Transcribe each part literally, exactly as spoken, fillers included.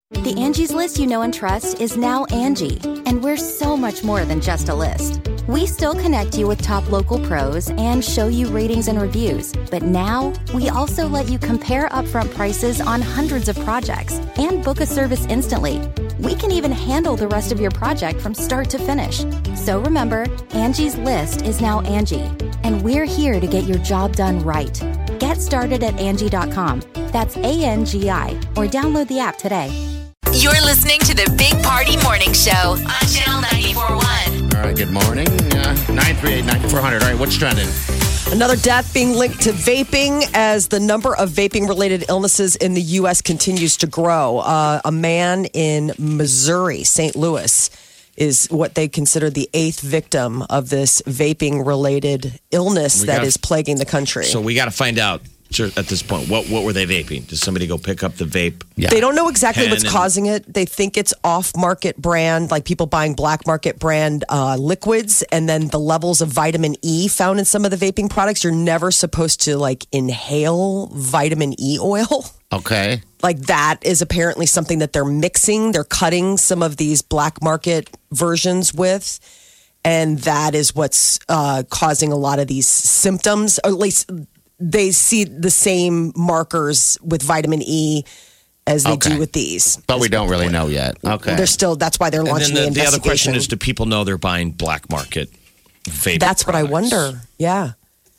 The Angie's List you know and trust is now Angie, and we're so much more than just a list. We still connect you with top local pros and show you ratings and reviews, but now we also let you compare upfront prices on hundreds of projects and book a service instantly. We can even handle the rest of your project from start to finish. So remember, Angie's List is now Angie, and we're here to get your job done right. Get started at Angie dot com. That's A N G I, or download the app today. You're listening to the Big Party Morning Show on Channel ninety-four point one. All right, good morning. Uh, nine three eight, nine four hundred. All right, what's trending? Another death being linked to vaping as the number of vaping-related illnesses in the U S continues to grow. Uh, a man in Missouri, Saint Louis, is what they consider the eighth victim of this vaping-related illness We that gotta- is plaguing the country. So we got to find out at this point, what what were they vaping? Did somebody go pick up the vape? Yeah. They don't know exactly Pen what's and- causing it. They think it's off-market brand, like people buying black market brand uh, liquids, and then the levels of vitamin E found in some of the vaping products. You're never supposed to like inhale vitamin E oil. Okay. Like that is apparently something that they're mixing. They're cutting some of these black market versions with. And that is what's uh, causing a lot of these symptoms, or at least they see the same markers with vitamin E as they Okay. do with these. But we don't really know yet. Okay. They're still, that's why they're And launching then the, the, the other question investigation. is, do people know they're buying black market vape? That's what I products? wonder. Yeah.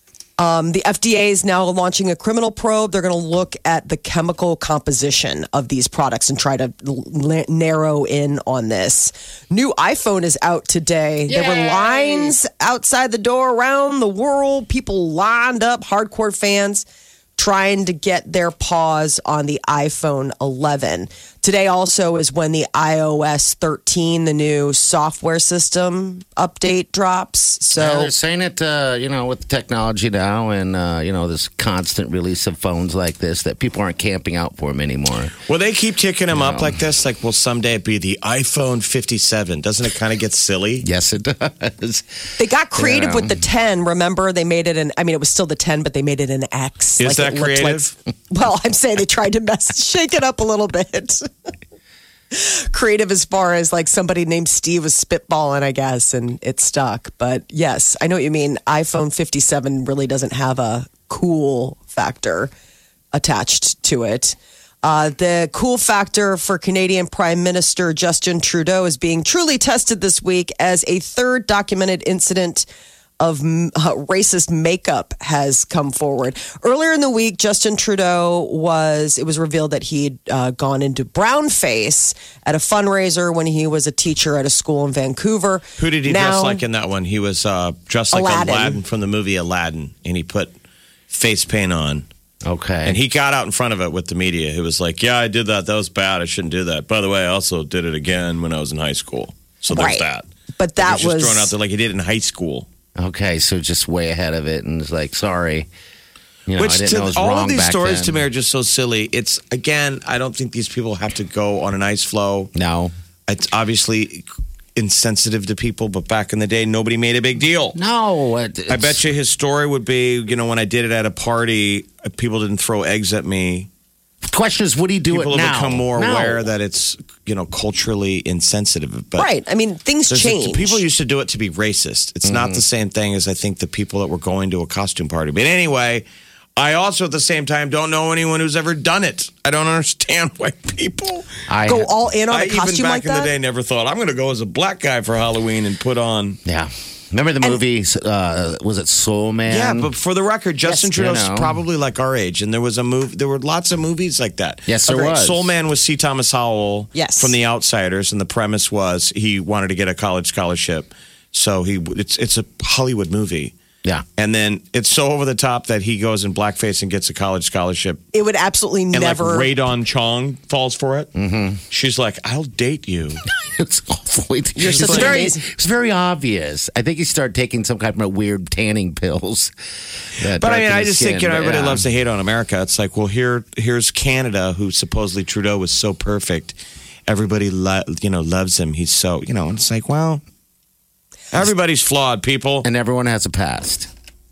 Um, the F D A is now launching a criminal probe. They're going to look at the chemical composition of these products and try to l- narrow in on this. New iPhone is out today. There were lines outside the door around the world. People lined up, hardcore fans trying to get their paws on the iPhone eleven. Today also is when the i O S thirteen, the new software system update drops. Yeah, So they're saying it, uh, you know, with technology now and, uh, you know, this constant release of phones like this, that people aren't camping out for them anymore. Will they keep ticking them up know. like this? Like, will someday it be the iPhone fifty-seven? Doesn't it kind of get silly? Yes, it does. they got creative Yeah. with the ten. Remember, they made it an, I mean, it was still the ten, but they made it an X. Is that it looked creative? Like, well, I'm saying they tried to mess, shake it up a little bit. Creative as far as like somebody named Steve was spitballing, I guess, and it stuck. But yes, I know what you mean. iPhone fifty-seven really doesn't have a cool factor attached to it. Uh, the cool factor for Canadian Prime Minister Justin Trudeau is being truly tested this week as a third documented incident of uh, racist makeup has come forward. Earlier in the week, Justin Trudeau was, it was revealed that he'd uh, gone into brown face at a fundraiser when he was a teacher at a school in Vancouver. Who did he Now, dress like in that one? He was uh, dressed like Aladdin. Aladdin from the movie Aladdin, and he put face paint on. Okay. And he got out in front of it with the media. He was like, yeah, I did that. That was bad. I shouldn't do that. By the way, I also did it again when I was in high school. So there's Right. that. But that he was was, just thrown out there like he did in high school. Okay, so just way ahead of it, and it's like, sorry. You know, Which I didn't to, know it was all wrong of these back stories then. to me are just so silly. It's, again, I don't think these people have to go on an ice flow. No. It's obviously insensitive to people, but back in the day, nobody made a big deal. No. It, I bet you his story would be, you know, when I did it at a party, people didn't throw eggs at me. The question is, would he do People it have now? become more No. aware that it's, you know, culturally insensitive. But right. I mean, things there's a- change. people used to do it to be racist. It's not the same thing as I think the people that were going to a costume party. But anyway, I also at the same time don't know anyone who's ever done it. I don't understand why people I go all in on I a costume even back like in that. the day never thought I'm going to go as a black guy for Halloween and put on. Yeah. Remember the movie, uh, was it Soul Man? Yeah, but for the record, Justin Yes, Trudeau's you know. probably like our age, and there was a move. There were lots of movies like that. Yes, there Okay, was. Soul Man was C. Thomas Howell. Yes. From The Outsiders, and the premise was he wanted to get a college scholarship, so he it's it's a Hollywood movie. Yeah. And then it's so over the top that he goes in blackface and gets a college scholarship. It would absolutely And never. like Ray Don Chong falls for it. Mm-hmm. She's like, I'll date you. It's awful. You're it's such an very, amazing- it's very obvious. I think he started taking some kind of weird tanning pills. that But I mean, darken I his just skin, think, you know, but everybody yeah. loves to hate on America. It's like, well, here, here's Canada, who supposedly Trudeau was so perfect. Everybody, lo- you know, loves him. He's so, you know, and it's like, well, everybody's flawed, people. And everyone has a past.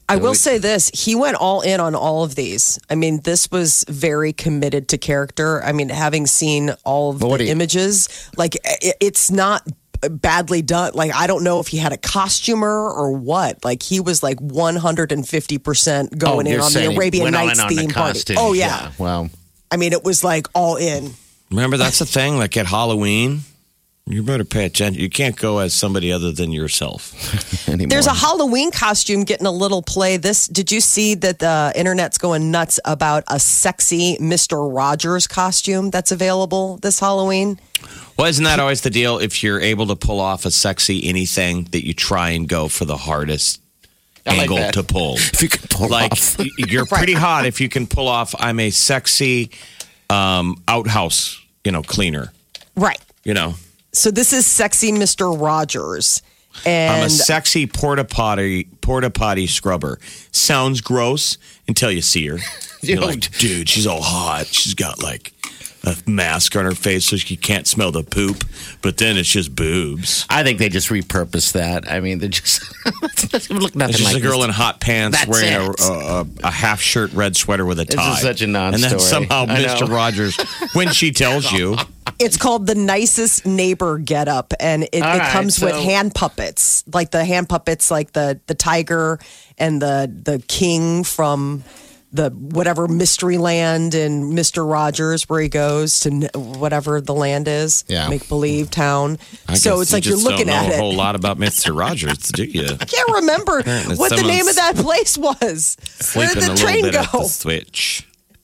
I will say this. He went all in on all of these. I mean, this was very committed to character. I mean, having seen all of But what the do you- images, like, it, it's not badly done. Like, I don't know if he had a costumer or what. Like, he was like one hundred fifty percent going in you're on the saying he Arabian went all Nights in on the theme party. costume. Oh, yeah. Well, I mean, it was like all in. Remember, that's the thing. Like at Halloween, you better pay attention. You can't go as somebody other than yourself. anymore. There's a Halloween costume getting a little play. This did you see that the internet's going nuts about a sexy Mister Rogers costume that's available this Halloween? Well, isn't that always the deal? If you're able to pull off a sexy anything, that you try and go for the hardest I like angle that. to pull. If you could pull like off. y- you're pretty hot if you can pull off. I'm a sexy um, outhouse, you know, cleaner. Right. You know, So this is sexy Mister Rogers. And I'm a sexy porta potty porta potty scrubber. Sounds gross until you see her. You're like, dude, she's all hot. She's got like a mask on her face so she can't smell the poop. But then it's just boobs. I think they just repurposed that. I mean, they just it doesn't look nothing It's just like a girl this. in hot pants That's wearing a, it. a, a half shirt, red sweater with a This tie. is such a non-story. And then somehow I Mister know. Rogers, when she tells you, it's called the nicest neighbor getup, and it, All it right, comes with so- hand puppets, like the hand puppets, like the the tiger and the the king from the whatever mystery land in Mister Rogers, where he goes to n- whatever the land is, Yeah. make believe town. I So guess it's you like you're just looking don't know at a whole it. lot about Mister Rogers, do you? I can't remember Apparently what the name someone's of that place was. Where Sleeping did a the train little bit go? at the switch.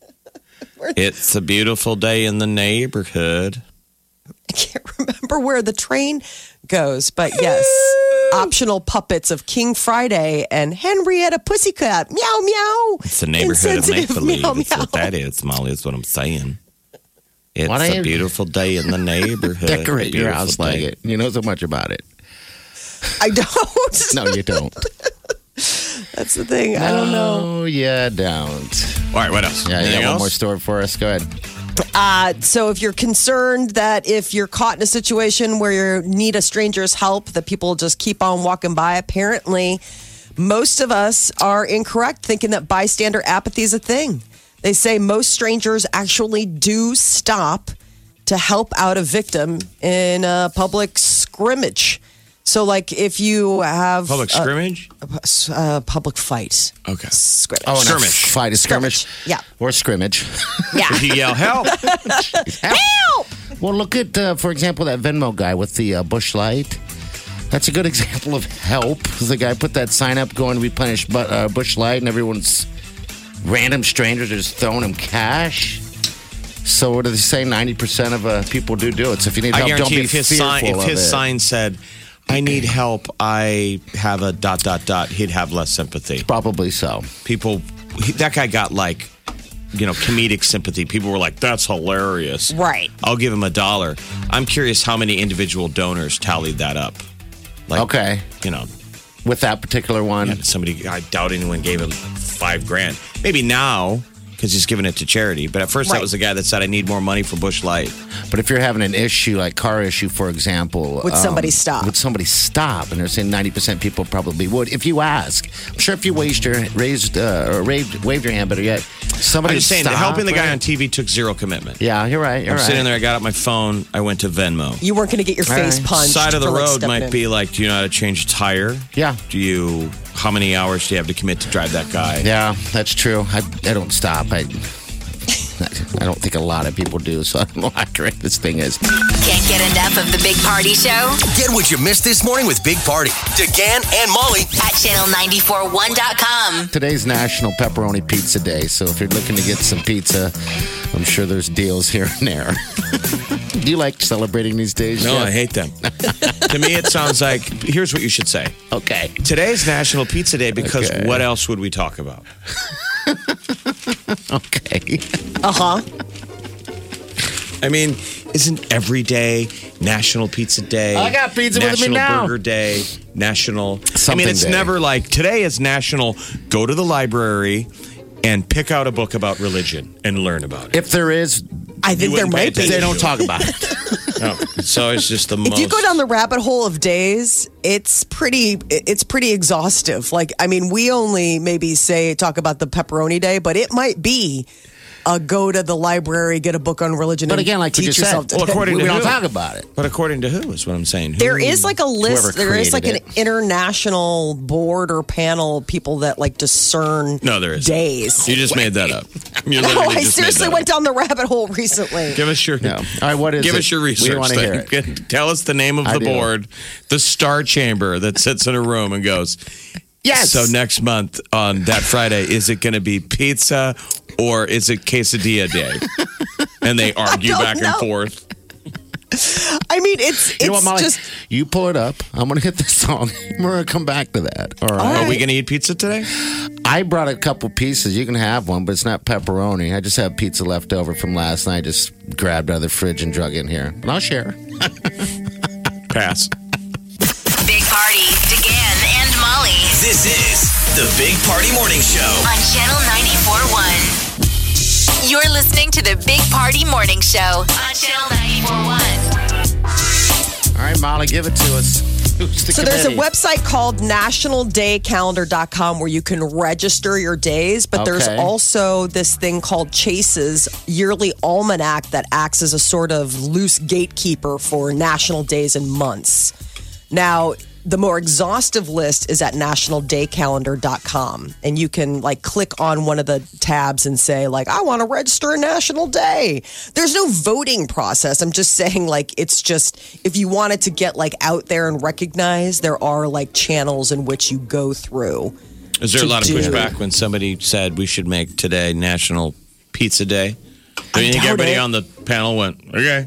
It's a beautiful day in the neighborhood. I can't remember where the train goes, but yes, optional puppets of King Friday and Henrietta Pussycat. Meow meow. It's the neighborhood of make Insensitive believe. meow, That's meow. what that is, Molly, is what I'm saying. It's Why don't a you- beautiful day in the neighborhood. Decorate your Beautiful house like day. it. You know so much about it. I don't. No, you don't. That's the thing. I don't know. Oh, yeah, don't. All right, what else? Yeah, you Anything got one else? more story for us. Go ahead. Uh, so if you're concerned that if you're caught in a situation where you need a stranger's help, that people just keep on walking by, apparently most of us are incorrect thinking that bystander apathy is a thing. They say most strangers actually do stop to help out a victim in a public scrimmage. So, like, if you have Public a, scrimmage? a public fight, Okay. scrimmage. Oh, and a Skirmish. Fight a skirmish. Skirmish, yeah. Or scrimmage. yeah. If you yell, help! Help! Well, look at, uh, for example, that Venmo guy with the uh, bush light. That's a good example of help. The guy put that sign up going to replenish bu- uh, bush light, and everyone's random strangers are just throwing him cash. So what do they say? ninety percent of uh, people do do it. So if you need I help, don't guarantee be if his fearful sign if of his it. sign said, I need help, I have a dot dot dot, he'd have less sympathy. Probably so. People he, that guy got like you know, comedic sympathy. People were like, that's hilarious. Right. I'll give him a dollar. I'm curious how many individual donors tallied that up. Like, Okay. You know, With that particular one. yeah, somebody, I doubt anyone gave him five grand. Maybe now, because he's giving it to charity. But at first, Right. that was the guy that said, I need more money for Busch Light. But if you're having an issue, like car issue, for example, Would somebody stop? Would somebody stop? And they're saying ninety percent people probably would. If you ask, I'm sure if you raised your raised uh, or waved, waved your hand, better yet, somebody. I'm just would saying, stop, helping the guy right? on T V took zero commitment. Yeah, you're right. You're I'm right. sitting there, I got out my phone, I went to Venmo. You weren't going to get your face right. punched. Side of the for, like, road stepping might in. be like, do you know how to change a tire? Yeah. Do you, how many hours do you have to commit to drive that guy? Yeah, that's true. I, I don't stop. I I don't think a lot of people do. So I don't know how accurate this thing is. Can't get enough of the Big Party Show Get what you missed this morning with Big Party, DeGan and Molly. at channel nine four one dot com. Today's National Pepperoni Pizza Day, so if you're looking to get some pizza, I'm sure there's deals here and there. Do you like celebrating these days? No, Jeff? I hate them. To me, it sounds like, here's what you should say. Okay. Today's National Pizza Day because Okay. what else would we talk about? Okay. Uh huh. I mean, isn't every day National Pizza Day? I got pizza with me National now. Burger Day, National. I Something mean, it's day. never like today is National. Go to the library and pick out a book about religion and learn about it. If there is, I think there wouldn't pay might be. attention. they don't talk about it. No, it's always just the most. If you go down the rabbit hole of days, it's pretty it's pretty exhaustive. Like, I mean, we only maybe say talk about the pepperoni day, but it might be a go to the library, get a book on religion, But and again, like we teach just yourself. said, to Well, according we to don't who? talk about it. But according to who is what I'm saying? Who? There is like a list. Whoever There is like an created international board or panel of people that like discern No, there is days. You just made that up. You No, literally I just made seriously that went up. down the rabbit hole recently. Give us your. No. All right, what is Give it? us your We research. wanna hear thing. Tell us the name of I the do. board, the Star Chamber that sits in a room and goes. Yes. So next month on that Friday, is it going to be pizza or is it quesadilla day? And they argue don't back know. and forth. I mean, it's it's You know what, Molly? just You pull it up. I'm going to hit this song. We're going to come back to that. All right. Are we going to eat pizza today? I brought a couple pieces. You can have one, but it's not pepperoni. I just have pizza left over from last night. Just grabbed out of the fridge and drug in here. But I'll share. Pass. Big Party, DeGan and Molly This is the Big Party Morning Show. on Channel ninety-four point one. You're listening to the Big Party Morning Show on Channel ninety-four point one. All right, Molly, give it to us. Who's the So there's a committee? website called national day calendar dot com where you can register your days, but there's Okay. also this thing called Chase's yearly almanac that acts as a sort of loose gatekeeper for national days and months. Now, the more exhaustive list is at national day calendar dot com, and you can like click on one of the tabs and say like, I want to register a national day. There's no voting process. I'm just saying like, it's just, if you wanted to get like out there and recognized, there are like channels in which you go through. Is there a To lot of do. pushback when somebody said we should make today National Pizza Day? I, I think doubt everybody it. on the panel went, okay.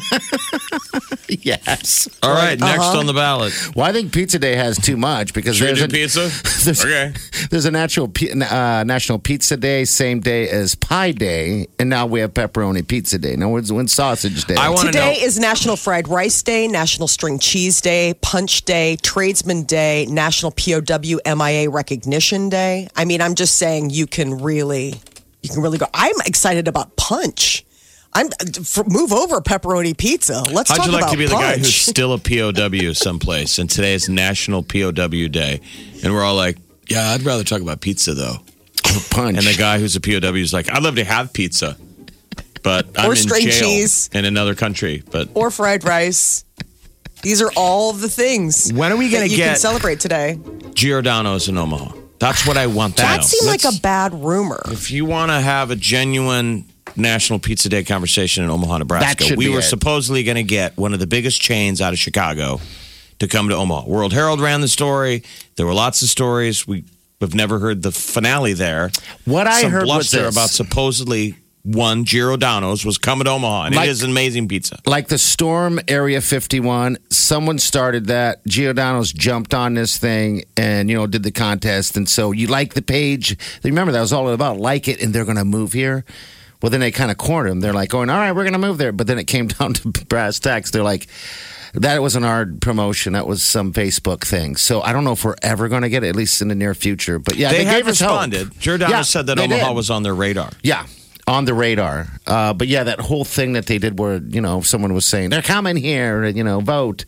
Yes. All right, next on the ballot. Well, I think Pizza Day has too much because Should we there's do a, pizza? there's, Okay. there's a natural pi- uh, National Pizza Day, same day as Pie Day, and now we have Pepperoni Pizza Day. No, when's, when's Sausage Day? I want to know. Today is National Fried Rice Day, National String Cheese Day, Punch Day, Tradesman Day, National P O W M I A Recognition Day. I mean, I'm just saying you can really, you can really go. I'm excited about Punch. I'm for, move over pepperoni pizza. Let's How'd talk you like about to be the Punch. guy who's still a P O W someplace, and today is National P O W Day, and we're all like, yeah, I'd rather talk about pizza, though. Punch. And the guy who's a P O W is like, I'd love to have pizza, but I'm Or in string jail cheese. in another country. But or fried rice. These are all the things. When are we gonna that you get- can celebrate today? Giordano's in Omaha. That's what I want to know. That seemed like Let's- a bad rumor. If you want to have a genuine National Pizza Day conversation in Omaha, Nebraska, should we be were it. supposedly going to get one of the biggest chains out of Chicago to come to Omaha. World Herald ran the story. There were lots of stories. We have never heard the finale there. What I Some heard was bluster this. about supposedly one Giordano's was coming to Omaha, and Like- it is an amazing pizza. like the Storm Area fifty-one, someone started that. Giordano's jumped on this thing and, you know, did the contest. And so you like the page. Remember, that was all about like it, and they're going to move here. Well, then they kind of cornered them. They're like going, all right, we're going to move there. But then it came down to brass tacks. They're like, that wasn't our promotion. That was some Facebook thing. So I don't know if we're ever going to get it, at least in the near future. But yeah, they, they, have gave us hope. responded. Giordano Yeah, said that they Omaha did. was on their radar. Yeah, on the radar. Uh, but yeah, that whole thing that they did where, you know, someone was saying, they're coming here, and, you know, vote,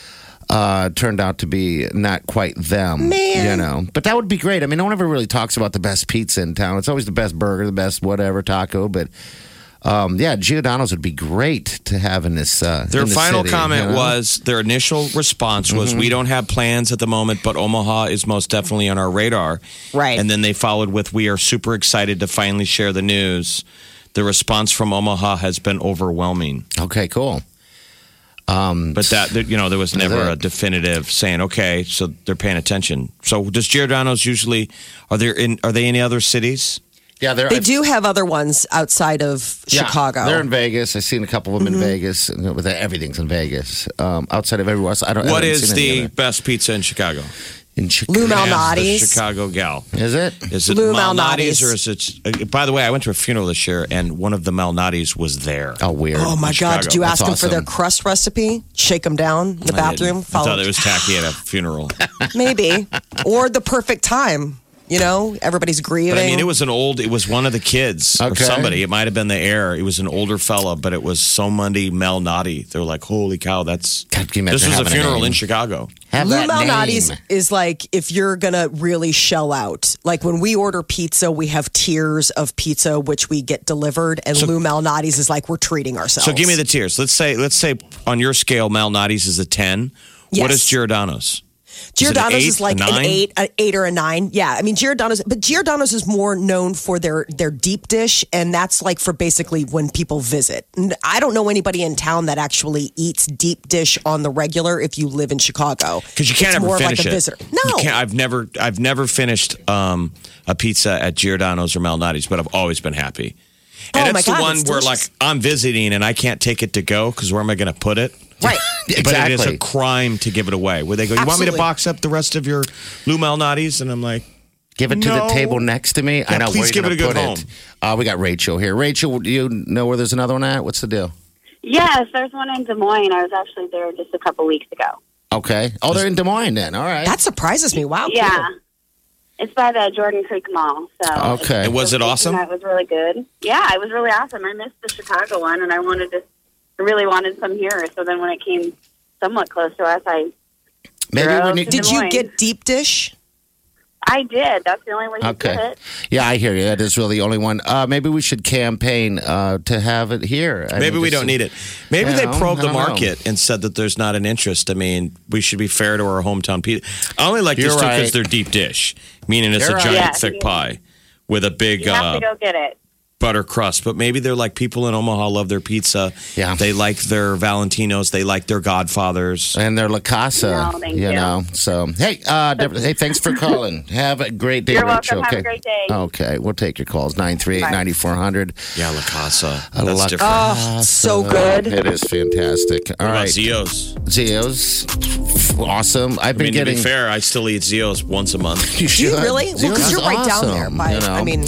uh, turned out to be not quite them. Man. You know, but that would be great. I mean, no one ever really talks about the best pizza in town. It's always the best burger, the best whatever, taco. But um, yeah, Giordano's would be great to have in this. Uh, Their in the final city, comment you know? was their initial response was, Mm-hmm. we don't have plans at the moment, but Omaha is most definitely on our radar. Right. And then they followed with, we are super excited to finally share the news. The response from Omaha has been overwhelming. Okay, cool. Um, But that, that, you know, there was never it. a definitive saying, okay, so they're paying attention. So does Giordano's usually, are there in, are they in other cities? yeah, they're, They do have other ones outside of Yeah, Chicago. They're in Vegas. I've seen a couple of them Mm-hmm. in Vegas. And with everything's in Vegas. Um, outside of everywhere else, I don't. I What haven't is seen any the of it. best pizza in Chicago? in Chicago? Lou Ask the Malnati's. Chicago gal. Is it? Is it Lou Malnati's Malnati's. or is it? uh, By the way, I went to a funeral this year, and one of the Malnati's was there. Oh, weird. Oh my Chicago. God! Did you That's ask them for their awesome. crust recipe? Shake them down in the I bathroom. didn't. I Follow- thought it was tacky at a funeral. Maybe, or the perfect time. You know, everybody's grieving. But I mean, it was an old, it was one of the kids or Okay. somebody. It might have been the heir. It was an older fella, but it was so Monday Malnati. They're like, holy cow, that's. God, can you This imagine was a having a funeral name? in Chicago. Have Lou that Malnati's name. is like if you're gonna really shell out. Like when we order pizza, we have tiers of pizza which we get delivered, and Lou Malnati's is like we're treating ourselves. So give me the tiers. Let's say, let's say on your scale, Malnati's is a ten. What Yes. is Giordano's? Giordano's eight, is like a an nine? eight, an eight or a nine. Yeah, I mean Giordano's, but Giordano's is more known for their their deep dish, and that's like for basically when people visit. And I don't know anybody in town that actually eats deep dish on the regular. If you live in Chicago, Because you can't it's ever more finish like a it. visitor. You No, can't, I've never, I've never finished um, a pizza at Giordano's or Malnati's, but I've always been happy. And Oh, my it's the God, one it's where, like, delicious. I'm visiting and I can't take it to go because where am I going to put it? right. But it is a Exactly. crime to give it away. Where they go, you want me to Absolutely. box up the rest of your Lou Malnati's? And I'm like, Give it to No. the table next to me. I Yeah, know. please where give you're it a good gonna home. put Uh, we got Rachel here. Rachel, do you know where there's another one at? What's the deal? Yes, there's one in Des Moines. I was actually there just a couple weeks ago. Okay. Oh, they're in Des Moines then. All right. That surprises me. Wow. Yeah. cool. It's by the Jordan Creek Mall. So Okay. And was it awesome? That was really good. Yeah, it was really awesome. I missed the Chicago one, and I wanted to, I really wanted some here. So then when it came somewhat close to us, I Maybe Girls. when you. Did Des you Moines. get deep dish? I did. That's the only way you Okay. did it. Yeah, I hear you. That is really the only one. Uh, maybe we should campaign uh, to have it here. I maybe mean, we just- don't need it. Maybe You they know, probed I the don't know. market and said that there's not an interest. I mean, we should be fair to our hometown pizza. I only like You're this too because right. they're deep dish, meaning it's You're a right. giant Yeah, thick you- pie with a big You have uh, to go get it. butter crust. But maybe they're like people in Omaha love their pizza. Yeah. They like their Valentinos. They like their Godfathers. And they're La Casa, No, thank you you. know. So, hey, uh, Deborah, hey, thanks for calling. Have a great day, You're Rachel. welcome. Have a okay. great day. Okay, we'll take your calls. nine three eight, nine four hundred. Yeah, La Casa. I That's like- different. Oh, so good. It is fantastic. All what about right. Zio's? Zio's. Awesome. I've I been mean, getting. to be fair, I still eat Zio's once a month. You Do you should. really? Well, Zio's because you're is right down there. awesome, By, you know? I mean,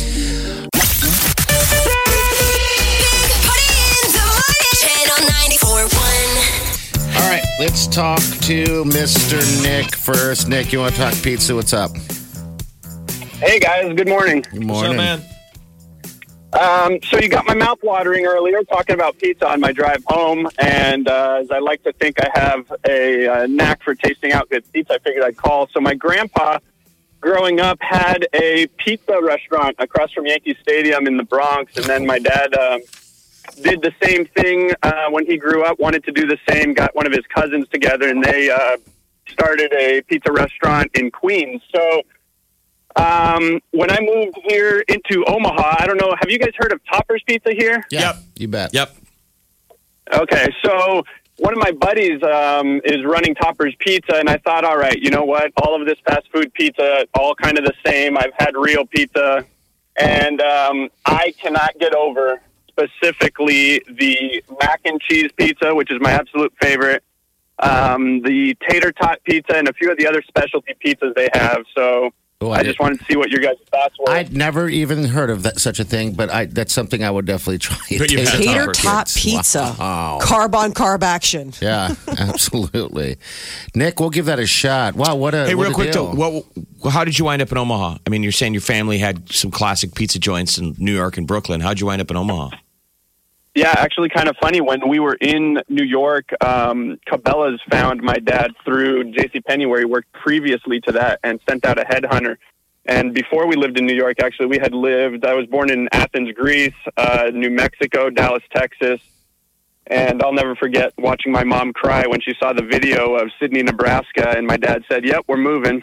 Channel ninety-four point one. All right, let's talk to Mister Nick first. Nick, you want to talk pizza? What's up? Hey guys, good morning. Good What's morning. up, man? Um, so you got my mouth watering earlier talking about pizza on my drive home, and uh, as I like to think I have a, uh knack for tasting out good pizza, I figured I'd call. So my grandpa, growing up, had a pizza restaurant across from Yankee Stadium in the Bronx, and then my dad um, did the same thing uh, when he grew up, wanted to do the same, got one of his cousins together, and they uh, started a pizza restaurant in Queens. So Um, when I moved here into Omaha, I don't know, have you guys heard of Topper's Pizza here? Yeah, Yep. you bet. Yep. Okay, so one of my buddies um, is running Topper's Pizza, and I thought, all right, you know what? All of this fast food pizza, all kind of the same. I've had real pizza, and um, I cannot get over specifically the mac and cheese pizza, which is my absolute favorite, um, the tater tot pizza, and a few of the other specialty pizzas they have. So Oh, I, I just did- wanted to see what your guys' thoughts were. I'd never even heard of that such a thing, but I that's something I would definitely try. But you've had tater Topper's. tot pizza, Wow. carb on carb action. Yeah, absolutely. Nick, we'll give that a shot. Wow, what a Hey, what real a quick, deal. though, what, how did you wind up in Omaha? I mean, you're saying your family had some classic pizza joints in New York and Brooklyn. How'd you wind up in Omaha? Yeah, actually kind of funny. When we were in New York, um, Cabela's found my dad through JCPenney, where he worked previously to that, and sent out a headhunter. And before we lived in New York, actually, we had lived, I was born in Athens, Greece, uh, New Mexico, Dallas, Texas. And I'll never forget watching my mom cry when she saw the video of Sydney, Nebraska. And my dad said, yep, we're moving.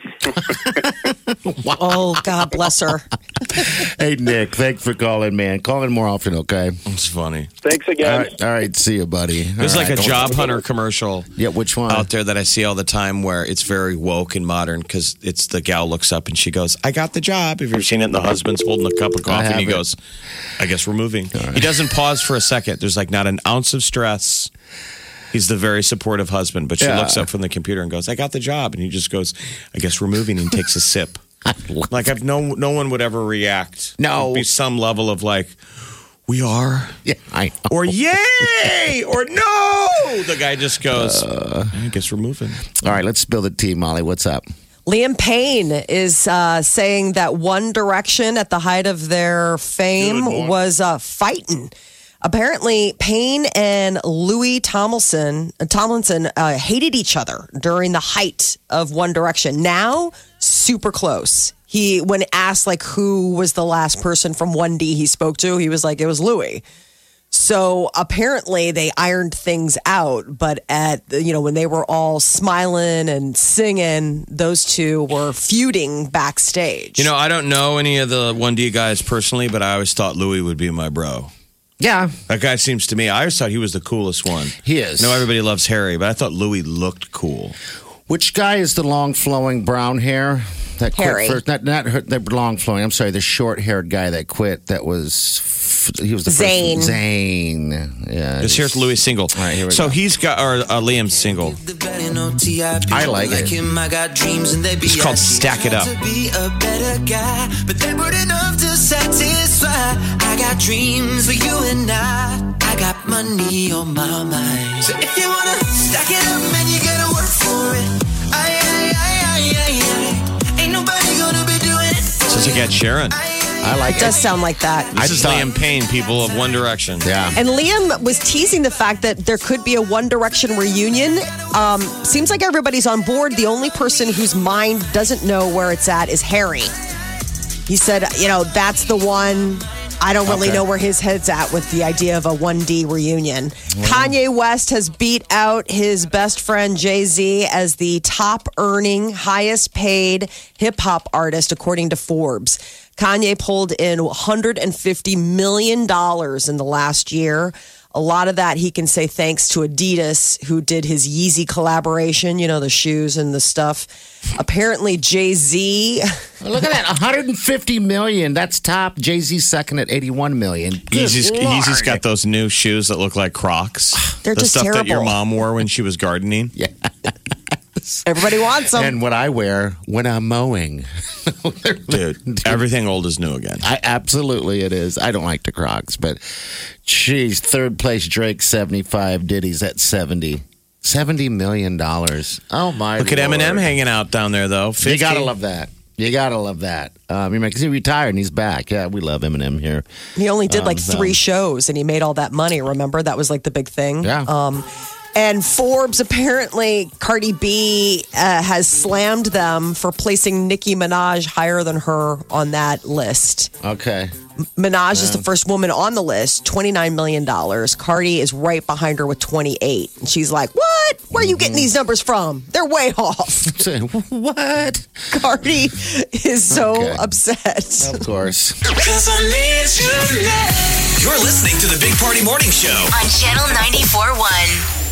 Oh, God bless her. Hey, Nick, thanks for calling, man. Call in more often, okay? It's funny. Thanks All again. right, all right. See you, buddy. There's All like right. a job hunter commercial Yeah, which one? out there that I see all the time where it's very woke and modern because it's the gal looks up and she goes, I got the job. Have you ever seen it? And the husband's holding a cup of coffee and he haven't. goes, I guess we're moving. He doesn't pause for a second. There's like not an ounce of stress. He's the very supportive husband, but she Yeah. looks up from the computer and goes, I got the job. And he just goes, I guess we're moving, and takes a sip. Like I've no no one would ever react. No. There'd be some level of like, we are, Yeah, I know. or yay, or no. The guy just goes, I guess we're moving. All right, let's spill the tea, Molly. What's up? Liam Payne is uh, saying that One Direction at the height of their fame was uh, fighting. Apparently, Payne and Louis Tomlinson, uh, Tomlinson uh, hated each other during the height of One Direction. Now, super close. He, when asked like who was the last person from one D he spoke to, he was like, it was Louis. So apparently they ironed things out, but at you know when they were all smiling and singing, those two were feuding backstage. You know, I don't know any of the one D guys personally, but I always thought Louis would be my bro. Yeah. That guy seems to me, I always thought he was the coolest one. He is. I know everybody loves Harry, but I thought Louis looked cool. Which guy is the long flowing brown hair? That quit Harry. First, not not her, the long flowing. I'm sorry, the short haired guy that quit. That was he was the Zayn. first Zayn. Yeah. Just here's Louis' single. All right, here we so go. he's got or uh, Liam's single. I like it. It's called Stack It Up. But they weren't enough to satisfy. I got dreams for you and I. I got money on my mind. So if you wanna stack it up, man, you gotta work for it. Aye, aye, aye, aye, aye, aye. Ain't nobody gonna be doing it. Sounds like Ed Sheeran. I like It does sound like that. This is thought- Liam Payne, people of One Direction. Yeah. And Liam was teasing the fact that there could be a One Direction reunion. Um, seems like everybody's on board. The only person whose mind doesn't know where it's at is Harry. He said, you know, that's the one. I don't really Okay. know where his head's at with the idea of a one D reunion. Kanye West has beat out his best friend Jay-Z as the top earning, highest paid hip hop artist, according to Forbes. Kanye pulled in one hundred fifty million dollars in the last year. A lot of that he can say thanks to Adidas, who did his Yeezy collaboration, you know, the shoes and the stuff. Apparently, Jay-Z. Look at that, one hundred fifty million. That's top. Jay-Z second at eighty-one million. Yeezy's, Good Yeezy's Lord. got those new shoes that look like Crocs. They're the just stuff that your terrible. mom wore when she was gardening. Yeah. Everybody wants them. And what I wear when I'm mowing. Dude, everything old is new again. I absolutely it is. I don't like the Crocs, but geez, third place Drake seventy-five, Diddy's at seventy. seventy million dollars. Oh my Look at Lord. Eminem hanging out down there, though. fifty. You gotta love that. You gotta love that. Um, because he retired and he's back. Yeah, we love Eminem here. He only did like Um, so- three shows and he made all that money. Remember? That was like the big thing. Yeah. Um, and Forbes, apparently, Cardi B uh, has slammed them for placing Nicki Minaj higher than her on that list. Okay. Minaj is the first woman on the list, twenty-nine million dollars. Cardi is right behind her with twenty-eight. And she's like, what? Where are you getting these numbers from? They're way off. What? Cardi is so Okay. upset. Of course. Cause I need you now. You're listening to the Big Party Morning Show. On Channel ninety-four point one.